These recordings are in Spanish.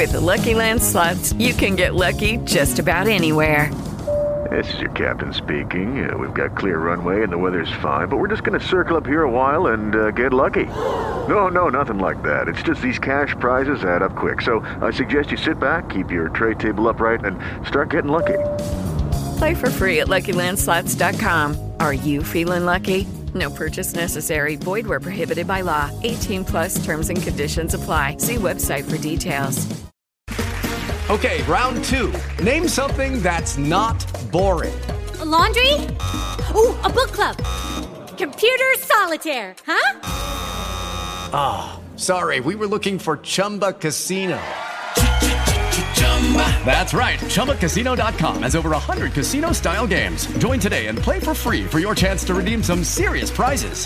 With the Lucky Land Slots, you can get lucky just about anywhere. This is your captain speaking. We've got clear runway and the weather's fine, but we're just going to circle up here a while and get lucky. No, nothing like that. It's just these cash prizes add up quick. So I suggest you sit back, keep your tray table upright, and start getting lucky. Play for free at LuckyLandSlots.com. Are you feeling lucky? No purchase necessary. Void where prohibited by law. 18 plus terms and conditions apply. See website for details. Okay, round two. Name something that's not boring. A laundry? Ooh, a book club. Computer solitaire, huh? Sorry, we were looking for Chumba Casino. That's right. ChumbaCasino.com has over 100 casino-style games. Join today and play for free for your chance to redeem some serious prizes.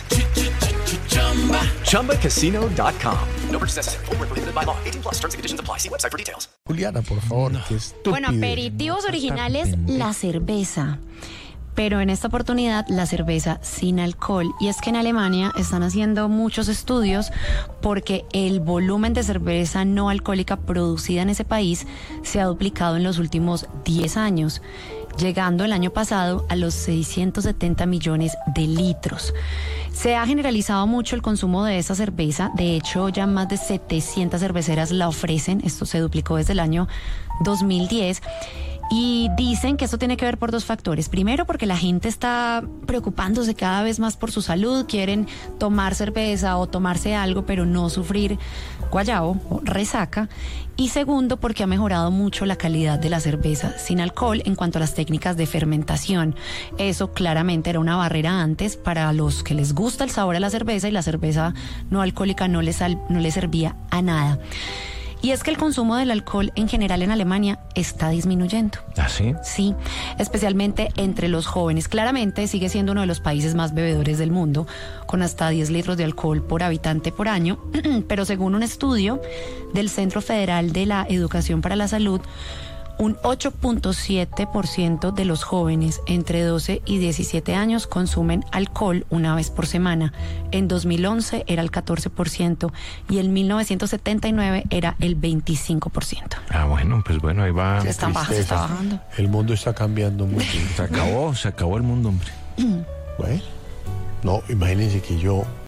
ChumbaCasino.com. No purchase necessary. Void where prohibited by law. 18 plus terms and conditions apply. See website for details. Juliana, por favor, qué estúpido. Bueno, aperitivos originales, la cerveza. Pero en esta oportunidad la cerveza sin alcohol. Y es que en Alemania están haciendo muchos estudios porque el volumen de cerveza no alcohólica producida en ese país se ha duplicado en los últimos 10 años, llegando el año pasado a los 670 millones de litros. Se ha generalizado mucho el consumo de esta cerveza. De hecho, ya más de 700 cerveceras la ofrecen. Esto se duplicó desde el año 2010. Y dicen que esto tiene que ver por dos factores. Primero, porque la gente está preocupándose cada vez más por su salud, quieren tomar cerveza o tomarse algo, pero no sufrir guayabo o resaca. Y segundo, porque ha mejorado mucho la calidad de la cerveza sin alcohol en cuanto a las técnicas de fermentación. Eso claramente era una barrera antes para los que les gusta el sabor a la cerveza, y la cerveza no alcohólica no les servía a nada. Y es que el consumo del alcohol en general en Alemania está disminuyendo. ¿Ah, sí? Sí, especialmente entre los jóvenes. Claramente sigue siendo uno de los países más bebedores del mundo, con hasta 10 litros de alcohol por habitante por año. Pero según un estudio del Centro Federal de la Educación para la Salud, un 8.7% de los jóvenes entre 12 y 17 años consumen alcohol una vez por semana. En 2011 era el 14% y en 1979 era el 25%. Bueno, ahí va. Se está bajando. El mundo está cambiando mucho. Se acabó el mundo, hombre. Bueno, no, imagínense que yo